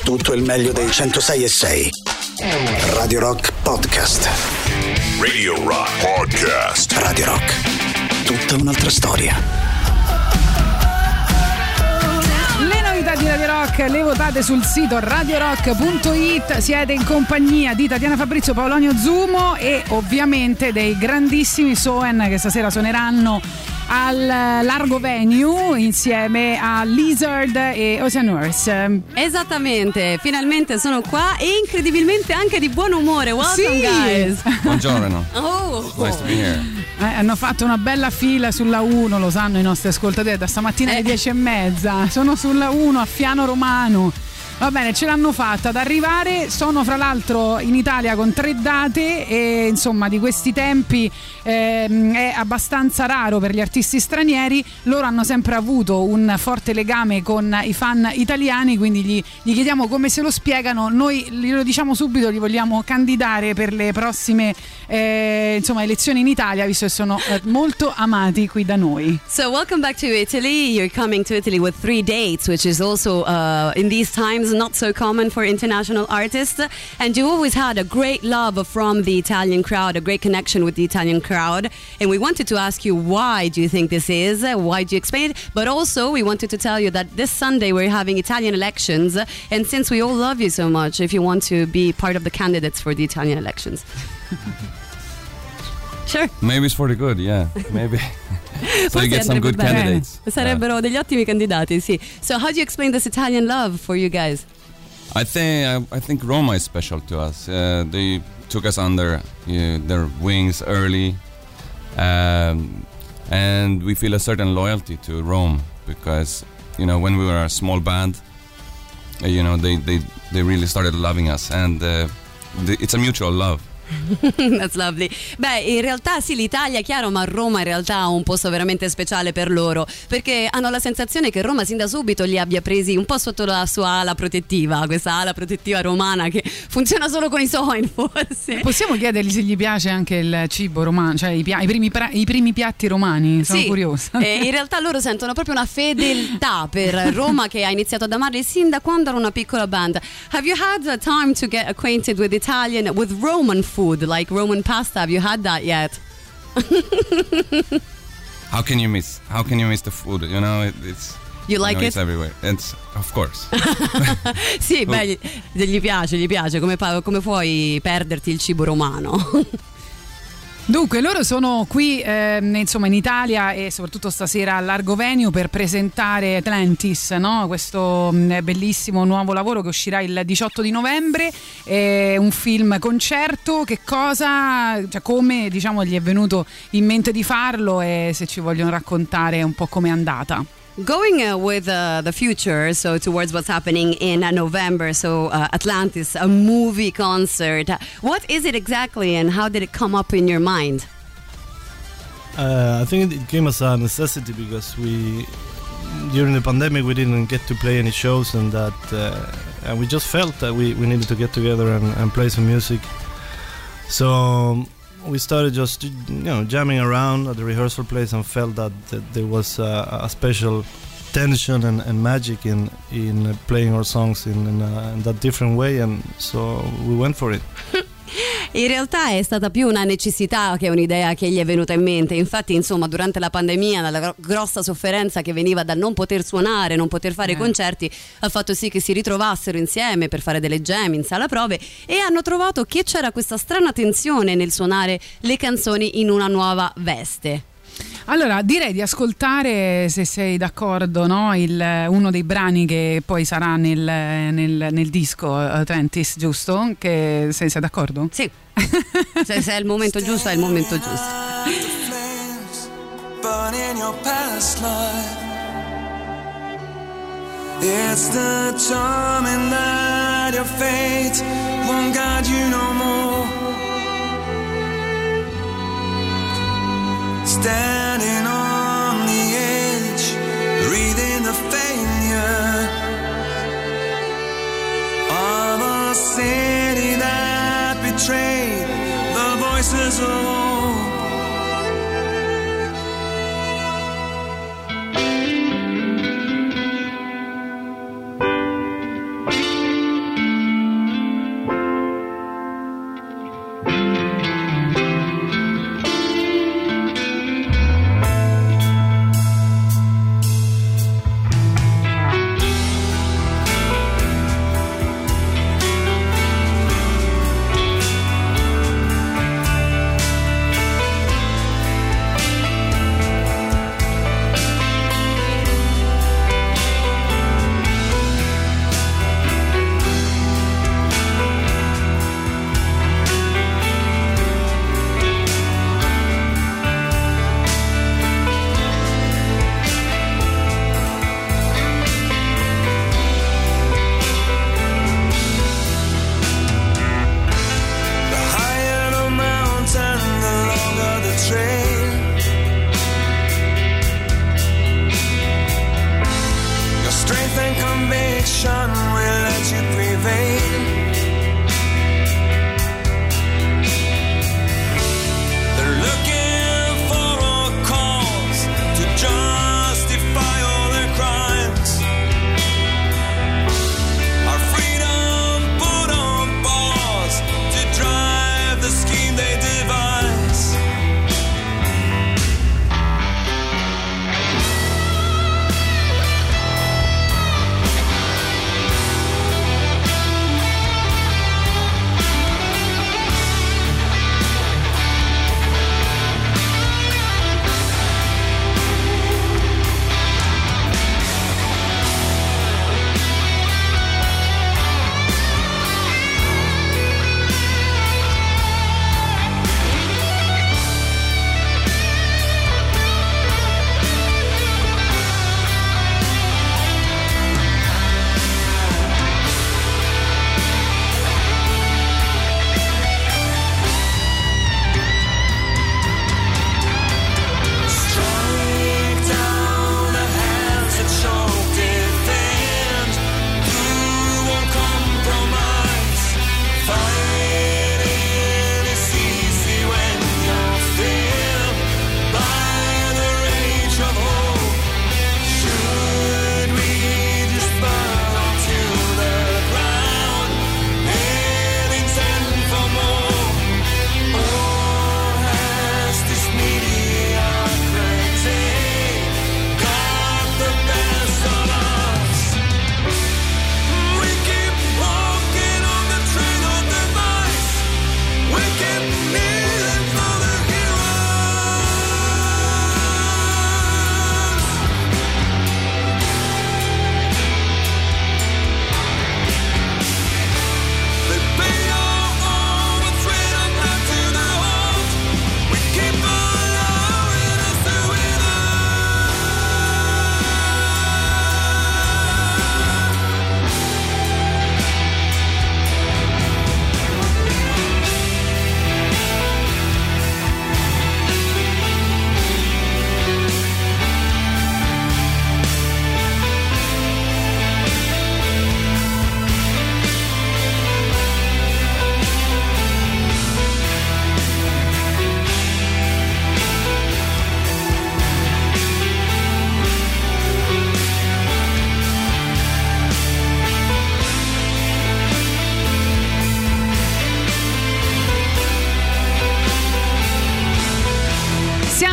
tutto il meglio dei 106.6. Radio Rock Podcast. Radio Rock Podcast. Radio Rock. Tutta un'altra storia. Le novità di Radio Rock le votate sul sito radiorock.it. Siete in compagnia di Tatiana Fabrizio, Paolonio Zumo e ovviamente dei grandissimi Soen che stasera suoneranno al Largo Venue insieme a Lizard e Ocean Earth. Esattamente, finalmente sono qua e incredibilmente anche di buon umore. Welcome, guys. Buongiorno. Oh. Nice to be here. Hanno fatto una bella fila sulla 1, lo sanno i nostri ascoltatori, da stamattina alle 10:30. Sono sulla 1 a Fiano Romano. Va bene, ce l'hanno fatta ad arrivare. Sono fra l'altro in Italia con 3 date e insomma di questi tempi è abbastanza raro per gli artisti stranieri. Loro hanno sempre avuto un forte legame con i fan italiani, quindi gli chiediamo come se lo spiegano. Noi glielo diciamo subito, li vogliamo candidare per le prossime elezioni in Italia, visto che sono molto amati qui da noi. So welcome back to Italy. You're coming to Italy with 3 dates, which is also in these times not so common for international artists, and you always had a great love from the Italian crowd, a great connection with the Italian crowd, and we wanted to ask you, why do you think this is, why do you explain it, but also we wanted to tell you that this Sunday we're having Italian elections, and since we all love you so much, if you want to be part of the candidates for the Italian elections. Sure. Maybe it's for the good, yeah. Maybe. So you get some good candidates. Sarebbero degli ottimi candidati, sì. So how do you explain this Italian love for you guys? I think Roma is special to us. They took us under their wings early, and we feel a certain loyalty to Rome because when we were a small band, they really started loving us, and it's a mutual love. That's lovely. Beh, in realtà sì, l'Italia è chiaro, ma Roma in realtà ha un posto veramente speciale per loro, perché hanno la sensazione che Roma sin da subito li abbia presi un po' sotto la sua ala protettiva, questa ala protettiva romana che funziona solo con i Soen, forse. Possiamo chiedergli se gli piace anche il cibo romano, cioè i primi piatti romani? Sono curiosa. In realtà loro sentono proprio una fedeltà per Roma che ha iniziato ad amarli sin da quando era una piccola band. Have you had the time to get acquainted with Roman food, like Roman pasta? Have you had that yet? How can you miss the food? It's you like it? It's everywhere. It's of course. Sì, beh, gli piace. Come puoi perderti il cibo romano? Dunque, loro sono qui in Italia e soprattutto stasera al Largo Venue per presentare Atlantis, no? Questo bellissimo nuovo lavoro che uscirà il 18 di novembre. È un film concerto. Che cosa, come gli è venuto in mente di farlo e se ci vogliono raccontare un po' com'è andata. Going with the future, so towards what's happening in November, so Atlantis, a movie concert. What is it exactly and how did it come up in your mind? I think it came as a necessity because during the pandemic, we didn't get to play any shows and we just felt that we needed to get together and play some music. So we started just jamming around at the rehearsal place and felt that there was a special tension and magic in playing our songs in that different way, and so we went for it. In realtà è stata più una necessità che un'idea che gli è venuta in mente. Infatti, durante la pandemia, la grossa sofferenza che veniva dal non poter suonare, non poter fare concerti, ha fatto sì che si ritrovassero insieme per fare delle jam in sala prove e hanno trovato che c'era questa strana tensione nel suonare le canzoni in una nuova veste. Allora direi di ascoltare, se sei d'accordo, no? Uno dei brani che poi sarà nel disco Atlantis, giusto? Che sei d'accordo? Sì. Se è il momento giusto, è il momento giusto. It's the charming that your fate won't guide you no more. Standing on the edge, breathing the failure of a city that betrayed the voices of hope.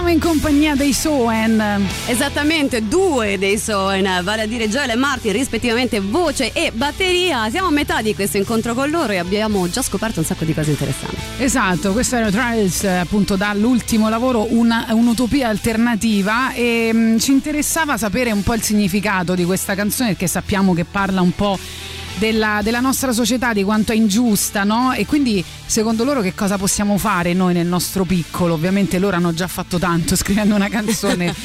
Siamo in compagnia dei Soen. Esattamente, due dei Soen, vale a dire Joel e Martin, rispettivamente voce e batteria. Siamo a metà di questo incontro con loro e abbiamo già scoperto un sacco di cose interessanti. Esatto, questo era Trials, appunto dall'ultimo lavoro, un'utopia alternativa, e ci interessava sapere un po' il significato di questa canzone, perché sappiamo che parla un po' della nostra società, di quanto è ingiusta, no? E quindi secondo loro che cosa possiamo fare noi nel nostro piccolo? Ovviamente loro hanno già fatto tanto scrivendo una canzone.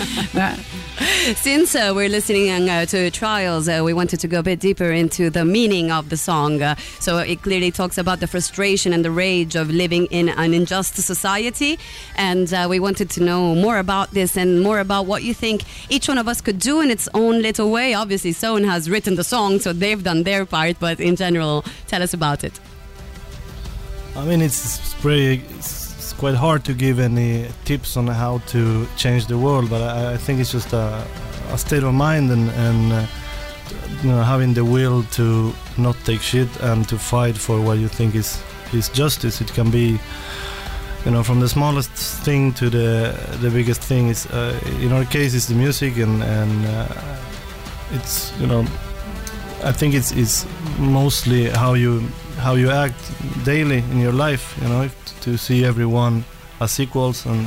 Since we're listening to Trials, we wanted to go a bit deeper into the meaning of the song. So it clearly talks about the frustration and the rage of living in an unjust society, and we wanted to know more about this and more about what you think each one of us could do in its own little way. Obviously, Soen has written the song, so they've done their part. But in general, tell us about it. I mean, it's quite hard to give any tips on how to change the world, but I think it's just a state of mind and you know, having the will to not take shit and to fight for what you think is justice. It can be, you know, from the smallest thing to the biggest thing. Is in our case, it's the music and it's, you know, I think it's mostly how you act daily in your life, you know, to see everyone as equals and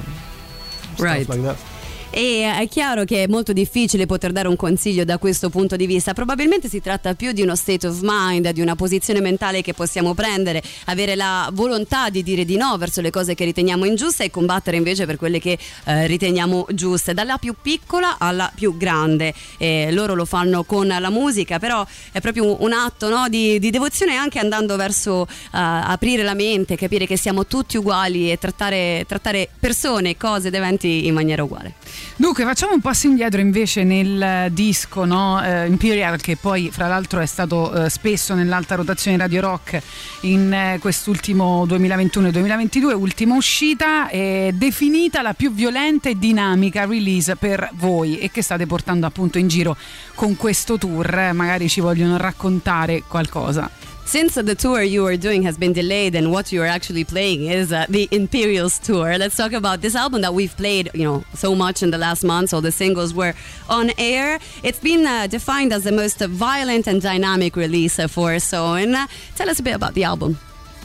stuff like that. E è chiaro che è molto difficile poter dare un consiglio da questo punto di vista. Probabilmente si tratta più di uno state of mind, di una posizione mentale che possiamo prendere, avere la volontà di dire di no verso le cose che riteniamo ingiuste e combattere invece per quelle che riteniamo giuste, dalla più piccola alla più grande. Loro lo fanno con la musica, però è proprio un atto, no, di devozione, anche andando verso aprire la mente, capire che siamo tutti uguali e trattare persone, cose, ed eventi in maniera uguale. Dunque facciamo un passo indietro invece nel disco, no? Imperial, che poi fra l'altro è stato spesso nell'alta rotazione Radio Rock in quest'ultimo 2021-2022, ultima uscita, definita la più violenta e dinamica release per voi, e che state portando appunto in giro con questo tour. Magari ci vogliono raccontare qualcosa. Since the tour you are doing has been delayed and what you are actually playing is the Imperials tour, let's talk about this album that we've played, you know, so much in the last months. All the singles were on air. It's been defined as the most violent and dynamic release for Soen. Tell us a bit about the album.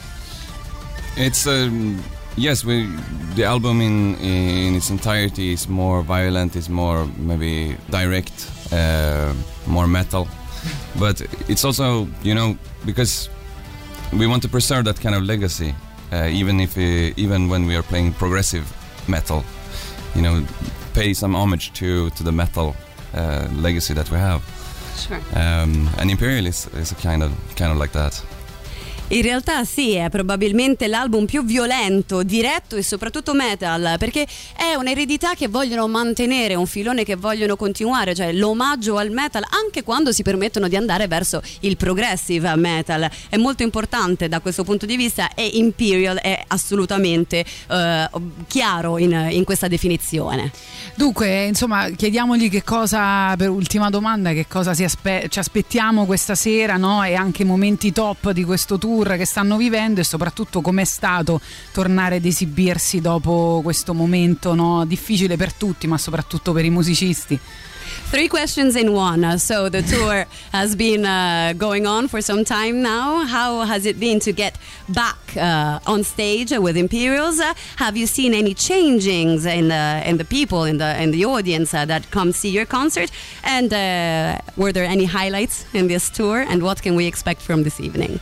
It's yes, the album in its entirety is more violent, is more maybe direct, more metal. But it's also, you know, because we want to preserve that kind of legacy, even when we are playing progressive metal, you know, pay some homage to the metal legacy that we have. Sure. And Imperial is a kind of like that. In realtà sì, è probabilmente l'album più violento, diretto e soprattutto metal, perché è un'eredità che vogliono mantenere, un filone che vogliono continuare, cioè l'omaggio al metal, anche quando si permettono di andare verso il progressive metal. È molto importante da questo punto di vista, e Imperial è assolutamente chiaro in questa definizione. Dunque, insomma, chiediamogli che cosa, per ultima domanda, che cosa ci aspettiamo questa sera, no? E anche momenti top di questo tour che stanno vivendo, e soprattutto com'è stato tornare ad esibirsi dopo questo momento, no? Difficile per tutti, ma soprattutto per i musicisti. 3 questions in one. So the tour has been going on for some time now. How has it been to get back on stage with Imperials? Have you seen any changings in the people, in the audience that come see your concert? And were there any highlights in this tour? And what can we expect from this evening?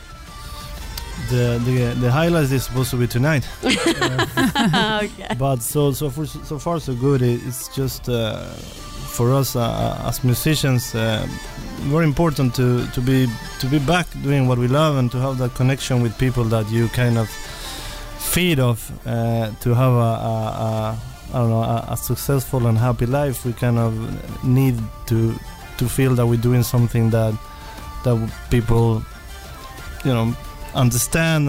The highlights is supposed to be tonight. Okay. But so far so good. It's just for us as musicians, very important to be back doing what we love and to have that connection with people that you kind of feed off. To have a successful and happy life, we kind of need to feel that we're doing something that people, you know, understand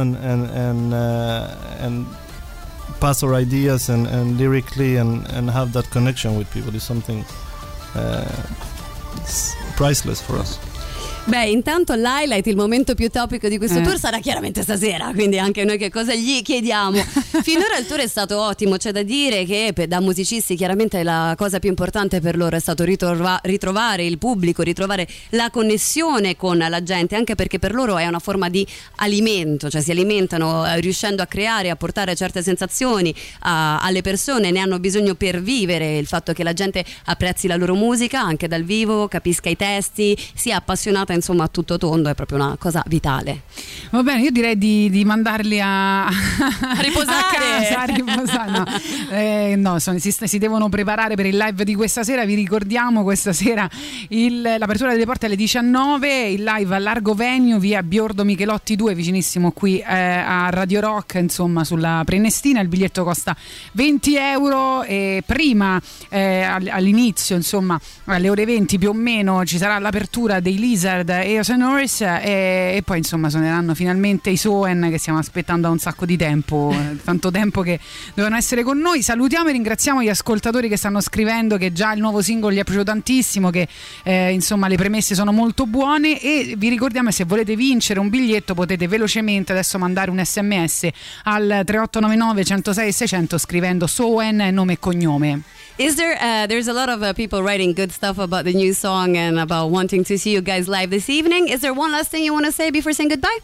and pass our ideas and lyrically and have that connection with people is something it's priceless for us. Beh, intanto l'highlight, il momento più topico di questo tour sarà chiaramente stasera, quindi anche noi che cosa gli chiediamo. Finora il tour è stato ottimo, c'è da dire che da musicisti chiaramente la cosa più importante per loro è stato ritrovare il pubblico, ritrovare la connessione con la gente, anche perché per loro è una forma di alimento, cioè si alimentano riuscendo a creare, a portare certe sensazioni alle persone, ne hanno bisogno per vivere. Il fatto che la gente apprezzi la loro musica anche dal vivo, capisca i testi, sia appassionata insomma a tutto tondo, è proprio una cosa vitale. Va bene, io direi di mandarli a riposare, a riposare. No, si devono preparare per il live di questa sera. Vi ricordiamo questa sera l'apertura delle porte alle 19, il live a Largo Venue, via Biordo Michelotti 2, vicinissimo qui a Radio Rock, insomma sulla Prenestina. Il biglietto costa 20 euro e prima all'inizio, insomma alle ore 20 più o meno, ci sarà l'apertura dei Lizard e Ocean Horse e poi insomma suoneranno finalmente i Soen, che stiamo aspettando da un sacco di tempo, tanto tempo che dovevano essere con noi. Salutiamo e ringraziamo gli ascoltatori che stanno scrivendo che già il nuovo singolo gli è piaciuto tantissimo, che insomma le premesse sono molto buone, e vi ricordiamo che se volete vincere un biglietto potete velocemente adesso mandare un SMS al 3899 106 600 scrivendo Soen, nome e cognome. Is there there's a lot of people writing good stuff about the new song and about wanting to see you guys live this evening. Is there one last thing you want to say before saying goodbye?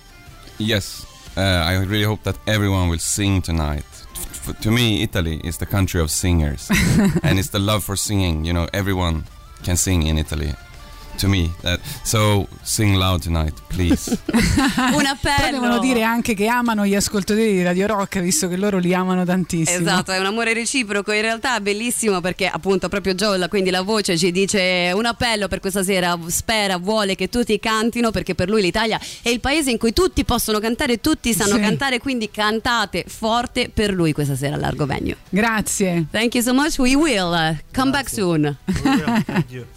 Yes, I really hope that everyone will sing tonight. To me, Italy is the country of singers, and it's the love for singing. You know, everyone can sing in Italy. To me, so sing loud tonight, please. Un appello. Però devono dire anche che amano gli ascoltatori di Radio Rock, visto che loro li amano tantissimo. Esatto, è un amore reciproco. In realtà è bellissimo perché appunto proprio Joel, quindi la voce, ci dice un appello per questa sera, spera, vuole che tutti cantino, perché per lui l'Italia è il paese in cui tutti possono cantare, tutti sanno cantare, quindi cantate forte per lui questa sera a Largo Venue. Grazie. Thank you so much. We will come back soon. Thank you.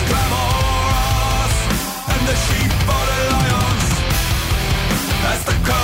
The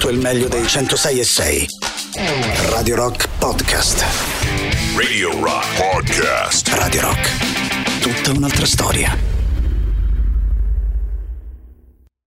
tutto il meglio dei 106.6. Radio Rock Podcast. Radio Rock Podcast. Radio Rock. Tutta un'altra storia.